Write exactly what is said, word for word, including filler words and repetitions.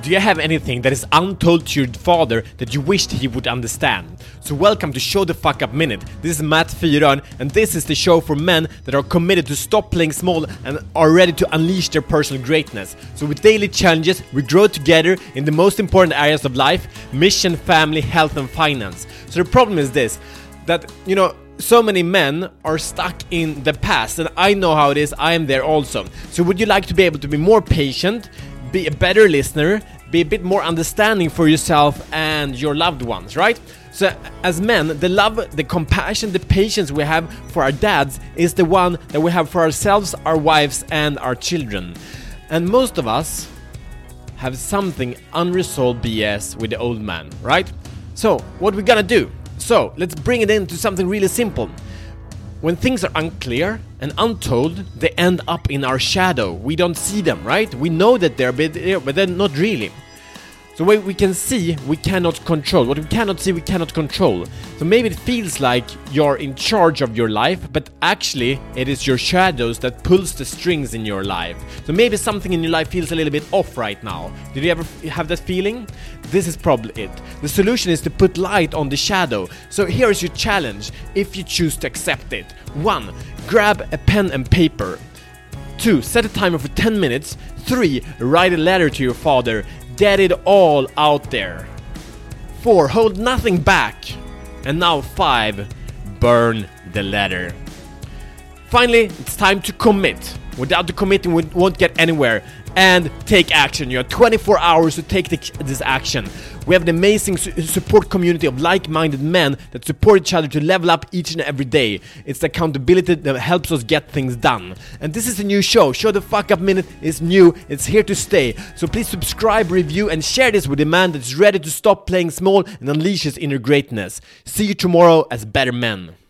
Do you have anything that is untold to your father that you wished he would understand? So welcome to Show the Fuck Up Minute. This is Matt Fyron, and this is the show for men that are committed to stop playing small and are ready to unleash their personal greatness. So with daily challenges, we grow together in the most important areas of life: mission, family, health and finance. So the problem is this, that, you know, so many men are stuck in the past, and I know how it is. I am there also. So would you like to be able to be more patient, be a better listener, be a bit more understanding for yourself and your loved ones, right? So as men, the love, the compassion, the patience we have for our dads is the one that we have for ourselves, our wives and our children. And most of us have something unresolved B S with the old man, right? So what we gonna do? So let's bring it into something really simple. When things are unclear and untold, they end up in our shadow. We don't see them, right? We know that they're there, but they're not really. So what we can see, we cannot control. What we cannot see, we cannot control. So maybe it feels like you're in charge of your life, but actually it is your shadows that pulls the strings in your life. So maybe something in your life feels a little bit off right now. Did you ever have that feeling? This is probably it. The solution is to put light on the shadow. So here is your challenge, if you choose to accept it. One, grab a pen and paper. Two, set a timer for ten minutes. Three, write a letter to your father. Get it all out there. Four, hold nothing back. And now five, burn the letter. Finally, it's time to commit. Without the committing, we won't get anywhere. And take action. You have twenty-four hours to take the, this action. We have an amazing su- support community of like-minded men that support each other to level up each and every day. It's the accountability that helps us get things done. And this is a new show. Show the Fuck Up Minute is new. It's here to stay. So please subscribe, review, and share this with a man that's ready to stop playing small and unleash his inner greatness. See you tomorrow as better men.